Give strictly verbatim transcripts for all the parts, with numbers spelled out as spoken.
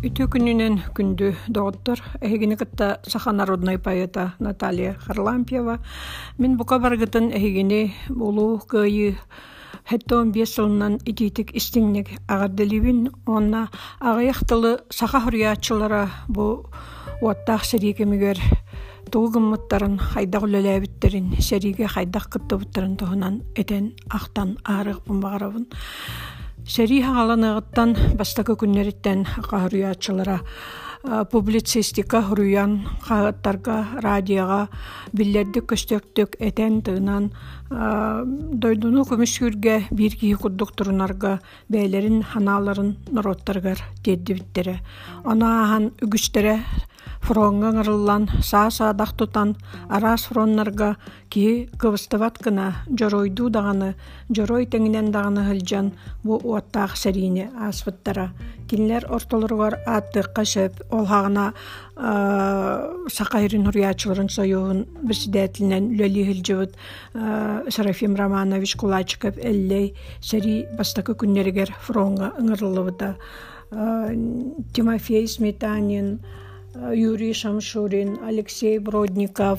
Үтө күнүнен күндү доктор эхигини кытта саха народный поэта Наталья Харлампьева мен бука баргытын эхигини улуу кыйы хеттон бес жылынан ититик истиңнек агарделибин онна агаяктылы саха хурьячылара бу уаттах серикемигер тугуммуттарын хайдак үлелебиттерин сериге хайдак кыттыбыттарын тоһунан этен ахтан аарык бумбагарабын. Сери хагаланыгыттан бастакы күннереттен кахырыячылара публицистика хуруян кагаттарга радиога биллерди көстөктөк этен тыынан дойдуну көмүскүрге бир кии курдуктурунарга бээлерин ханааларын нороттаргар теддибиттере онаахан үгүстере фронга ыңырыллан саа-саадах тутан араас фроннарга кии кыбыстыбат гына жоройду даганы жорой теңинен даганы хылжан бу уаттаах сериини ааспыттара кинилер ортолоругар ааттыыкка сөп ол хагына сакайрын хурьячыларын союун председателинен үлели хылжыбыт Серафим Романович Кулачиков эллей сери бастакы күннеригер фронга ыңырылыбыта Тимофей Сметанин, Юрий Шамшурин, Алексей Бродников,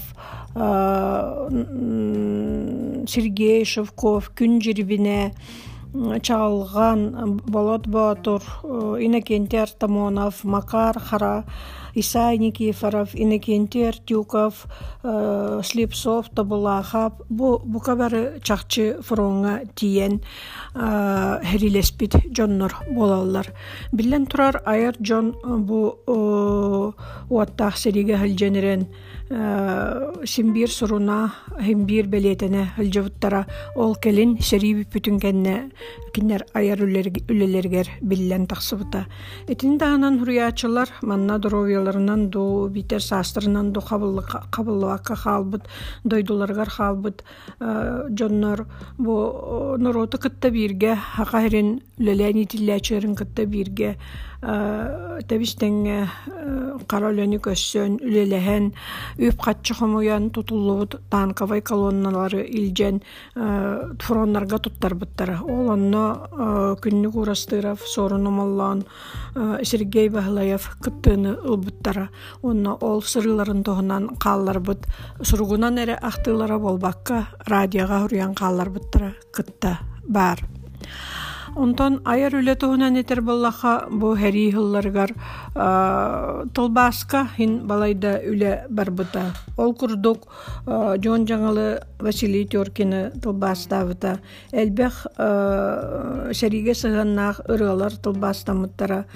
Сергей Шевков, Күнжирбине, Чалган, Болот Батур, Иннокентий Артамонов, Макар Хара, Исай Никифоров, Иннокентий Артюков, Слепцов, Табулахов, бу букабары чакчы фронга тиен херилеспит жоннор болалар. Билен турар айыр жон бу уаттах сериге хылженерен симбир суруна химбир белетене хылжыбыттара ол келин сери бүтүн кенне кинер айыр үлелергер билен таксыбыта. Этин дагынан хурьячылар манна здоровьяларынан ду битер састырынан ду кабыллыкка халбыт дойдуларгар халбыт жоннор бу нороты кытта бирге хакайрын үлелени тиллячерин кытта бирге табистен каролени көссөн үлелehen үп катчыхымуян тутуллубут танковый колонналары илжен фроннарга туттарбыттара ол онно күннүк урастыров сорунумаллан Сергей Бахлаев кыттыны ылбыттара онно ол сырыларын тоһунан каалларбыт сургунан эре актылара болбакка радиога хурьян каалларбыттара кытта бар. Онтон айыр үле туһунан этер боллаха бу хери хылларгар тылбаска хин балайда үле барбыта. Ол курдук жон жаңылы Василий Теркины тылбастабыта. Элбех сериге сыганнах ырыалар тылбастамыттара.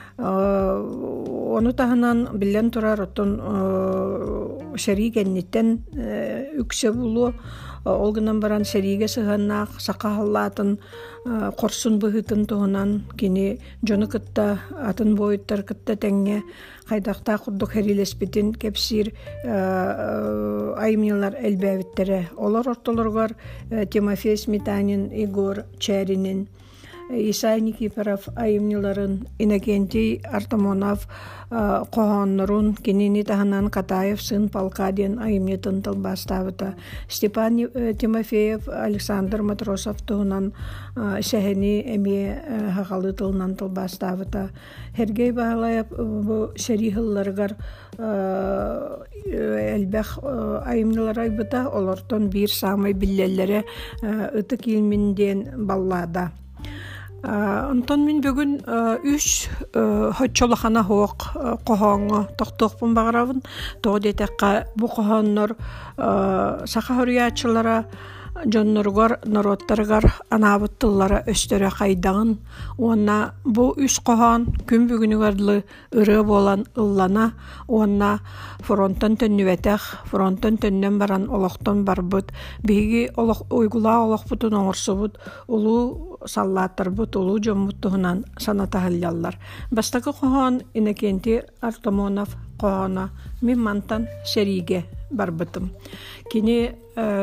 Оны таһынан билен турар оттон серигенниттен үксе булу олгынан баран сериге сыганнах сакахаллатын корсун быһытын туһунан кини жону кытта атын бойуттар кытта теңге хайдакта курдук херилеспитин кепсир айымнылар элбэбиттере олар ортолоргор Тимофей Сметанин, Игорь Чаринин, Исай Никифоров айымныларын, Иннокентий Артамонов коһоннорун кинини таһанан Катаев сын Палкадин айымнетін тылбастабыта. Степан Тимофеев, Александр Матросов туһунан сәһени эми хагалы тылынан тылбастабыта. Сергей Бахлаев бу серихылларгар элбэх айымнылар айбыта олортон бир самай биллеллере ыты килминден баллада. Онтон мен бүгін үш хотчолахана хоқ қоғаңы тоқтоқпын бағарабын. Тоғдетеққа бұ қоғаннар сақа хурьячылара жонноргор народтаргар анабыттыллара өстөрө кайдагын онна бу үс коһон күн бүгүнүгөрлү ыры болан ыллана онна фронттон төннүбетех фронттон төннөн баран олохтон барбыт биги олох уйгула олохпутун оңорсубут улуу саллааттарбыт улуу жоммуттуһунан санатахыллаллар бастакы коһон Иннокентий Артамонов коһона мен мантан сериге барбытым кини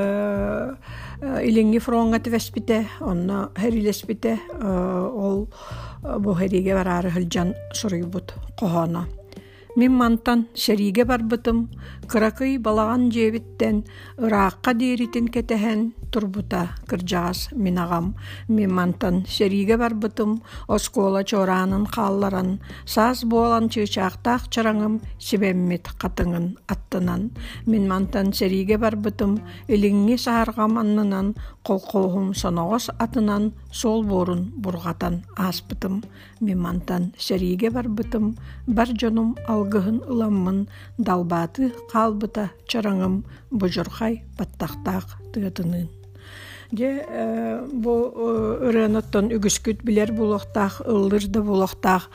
илинги фронга тивеспите онна херилеспите ол бу хериге барары хылжан суруйбут коһона Мин мантан шериге барбытым, кыракый балаган жебиттен ыракка дээритин кетehen турбута кыржагас минагам. Мин мантан шериге барбытым, оскола чоранын қалларан, саз болан чычактак чараңым сибеммит катыңын аттынан. Мин мантан шериге барбытым, илиңи сааргам аннынан, колкоохум соногос атынан сол борун бургатан аспытым. Мин мантан шериге барбытым, бар жонум алгыһын ыламмын, далбаты қалбыта чараңым бужурхай баттактаак тыатынын. Де бу ырыноттон үгүскүт билер булактак, ылдыр да булактак.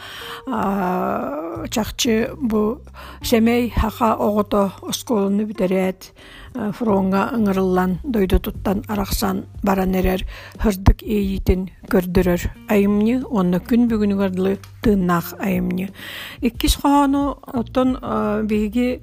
Чакчы бу семей хака огото осколуну битерет. Фронга ыңырыллан дойду туттан араксан баран эрер хырдык эйитин көрдөрөр. Айымны онна күн бүгүнүгөрлү тыыннаах айымны. Иккис хону оттон биги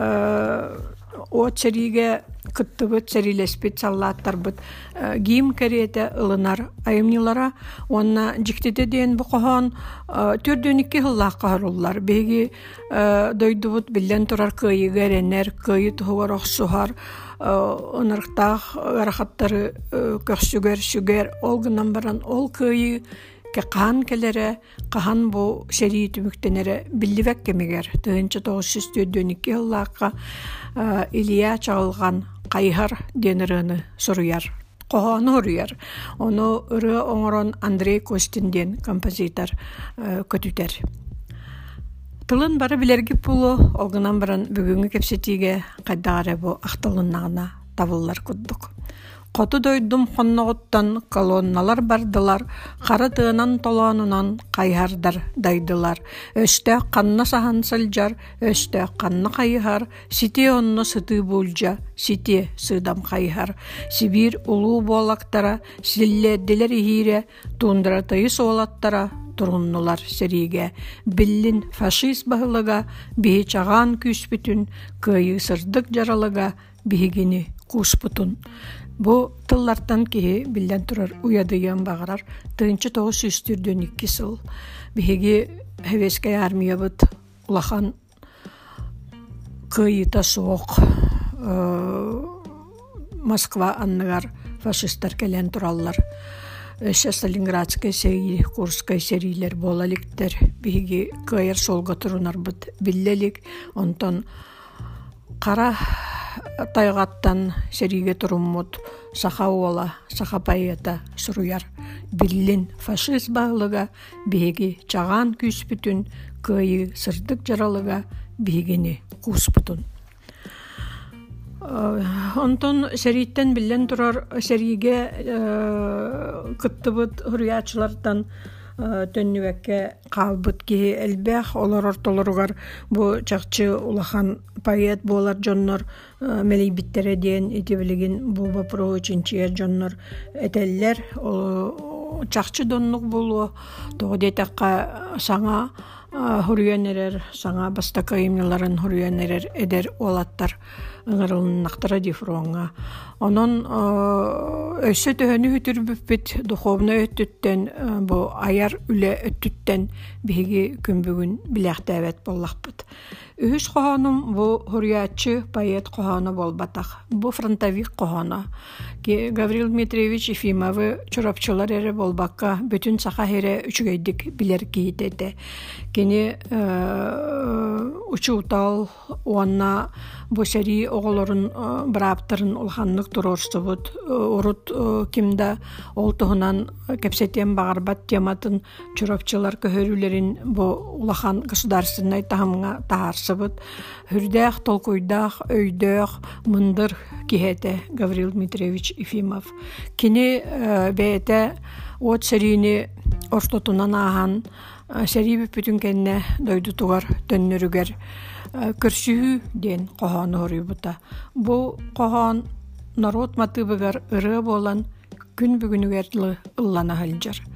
от сериге кыттыбыт серилеспит саллааттарбыт гим керете ылынар айымнылара онна жиктете ден бу кохон төрдөнүкке хыллаакка харуллар биги дойдубут билен турар кыйыга эренер кыйы тугар оксухар ынырктаах арахаттары көксүгер сүгер олгунан баран ол кыйы ке каан келере кахан бу серии түмүктенере билливек кемигер тыынчы тогуз жүз төрдөнүкке хыллаакка Илия чагылган кайхар денерыны суруяр. Кохону уруяр. Ону ыры оңорон Андрей Костинден композитор көтүтер. Тылын бары билерги пулу, олгынан баран бүгүнгү кепсетиге кайдагары бу актылыннагына табыллар куддук. Коту дойдум хонногуттан колонналар бардылар, кары тыынан толоонунан кайхардар дайдылар. Өстө канна сахан сылжар, өстө канна кайхар, сите онно сыты булжа, сите сыдам кайхар. Сибир улуу болактара, силледдилер ихире, тундра тыйы соолаттара, туруннулар сериге. Биллин фашист бахылыга, бихи чаган күспүтүн, кыйы сырдык жаралыга, бихигини куспутун. Бу тыллартан киһи билден турар уядыйан багарар тыынчы тогуз жүз төрдөнүкки сыл биһиги хевескай армиябыт улахан кыйыта соок Москва анныгар фашисттар келен тураллар. Өсө Сталинградская серии, Курская серийлер болаликтер биһиги кыйыр солга турунарбыт биллелик онтон кара тайгаттан сериге туруммут саха уола, саха пайета суруяр. Биллин фашист бағылыга биһиги чаган күспүтүн, кыйы сырдык жаралыга биһигини куспутун. Онтон сериттен биллен турар сериге кыттыбыт хуруячылардан төннүбекке калбыт ки элбэх олар ортолоругар бу чакчы улахан поэт болар жоннор мелейбиттере ден этебилигин бу бапро үчүнчү жоннор этеллер чакчы доннук болу тогодетакка саңа хуруянерер саңа бастакайымныларын хуруянерер эдер олаттар ыңырылыннактара дифронга. Онон өссө төһөнү хүтүрбүппит духовно өттүттен бу аяр үле өттүттен биһиги күнбүгүн билэхтээбет боллахпыт. Үһүс кохонум бу хуруячы поэт кохону болбатах. Бу фронтовик кохону. Гаврил Дмитриевич Ефимовы чурапчылар эре болбакка бүтүн саха хере үчүгейдик билер киитете. Кени учуутал уанна бу сери оголорун браптарын улханнык турорсубут урут кимда ол туһунан кепсетен багарбат тематын чурапчылар көһөрүлерин бу улахан государственный тахамга таарсыбыт хүрдэх толкуйдах өйдөх мындыр кихете Гаврил Дмитриевич Ефимов. Кини бэйте от серини ортотунан ахан сери бүтүн кенне дойдутугар төннөрүгер көрсүһү ден кохону хорубута. Бу кохон народ матыбыгар ыры болан күн бүгүнүгерлы ыллана халжар.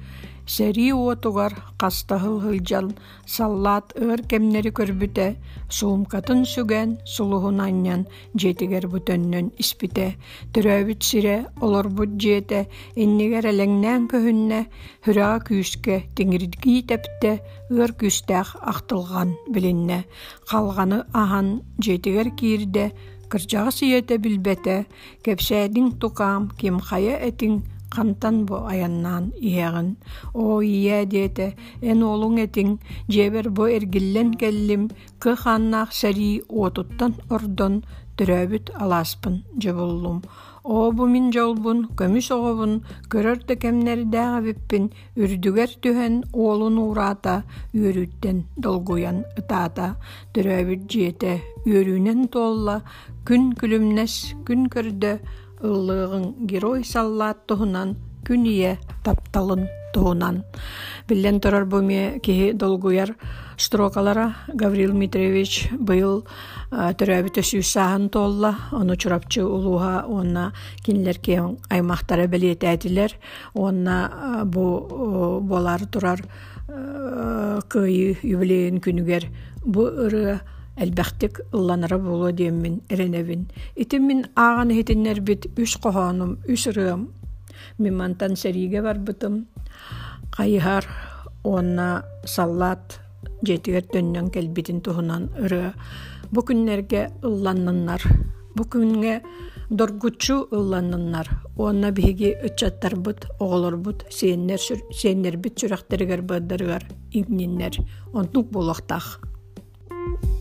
сәри уотугар қастахыл хылжал саллаат ыр кемнери көрбүтэ суумкатын сүгэн сулуһунанньан жетигер бүтөннөн испите төрөбүт сире олорбут жете иннигер элеңнään көһүннэ хүраа күүскэ тиңирдигии тепте ыр күстэх ахтылган билиннэ калганы ахан жетигер киирде кырдьаҕа сиэтэ билбэтэ кэпсээдиң тукаам ким хая этиң хантан бу аяннаан иэҕин о ийэ диэтэ эн олуң этиң дьиэбэр бу эргиллэн кэллим кы хааннаах сэрии уотуттан ордон төрөөбүт алааспын дьабуллум о бу мин жолбун көмүс оҕобун көрөр да кэмнэрдээҕэбиппин үрдүгэр түһэн уолун ураата үөрүүттэн долгуян ытаата төрөөбүт дьиэтэ үөрүүнэн туолла күн күлүмнэс күн көрдө ыллыгын герой саллаат туһунан күн ие тапталын туһунан биллен турар буме киһи долгуяр строкалара Гаврил Митревич быйыл төрөбүтө сүүсааһын туолла ону чурапчы улууха уонна кинилер киэн аймактара белиэтээдилер уонна бу болар турар кыйы юбилейин күнүгер бу ыры элбэхтик ылланара болуо диэммин эренебин итим мин ааган хитиннер бит үс кохоонум үс ырыам мимантан сэриге барбытым кайыһар уонна саллаат жетигер төннөн келбитин туһунан ыры бу күннерге ылланнаннар бу күнгө доргуччу ылланнаннар уонна биһиги ычаттарбыт оҕолорбут сиэннер сиэннербит сүрэхтеригер быаддарыгар игниннер онтук буолуохтаах.